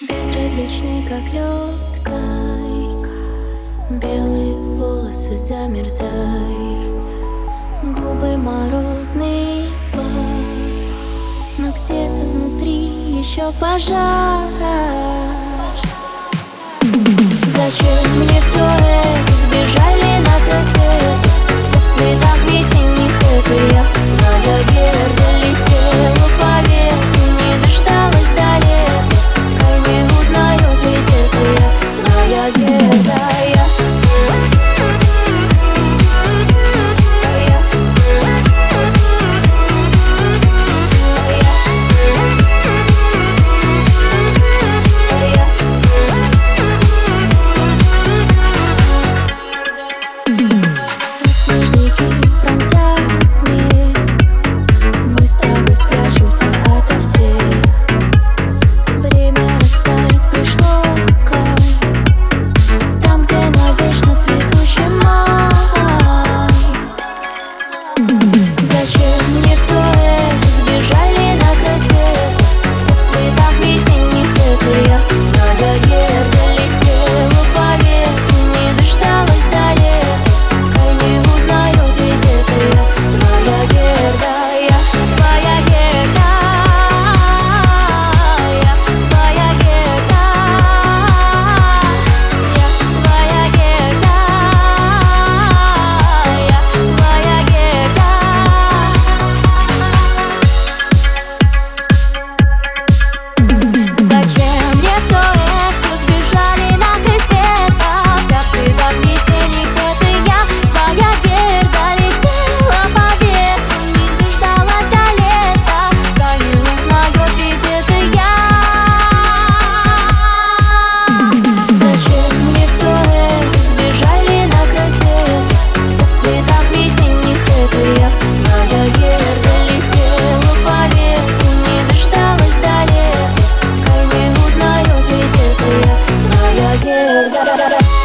Безразличный, как лед, кай. Белые волосы замерзай, губы морозный пай, но где-то внутри еще пожар. Зачем мне все это? Сбежали на край света, все в цветах весенних. Это я, твоя Герда, летела по ветру, не дождалась до лета. Кай не узнает, ведь это я, твоя Герда. Зачем мне все это? Сбежали на край света, все в цветах весенних. Это я, твоя Герда, летела по ветру, не дождалась до лета. Кай не узнает, ведь это я, твоя Герда. Я твоя Герда, я твоя Герда, я твоя Герда, я твоя Герда. Зачем мне все это? Сбежали на край света, вся в цветах весенних. Это я, твоя Герда, летела по ветру, не дождалась до лета. Кай не узнает, ведь это я. Зачем мне все это? Сбежали на край света, вся в цветах весенних. Это я, твоя Герда, летела по ветру, не дождалась до лета. Кай не узнает, ведь это я, твоя Герда.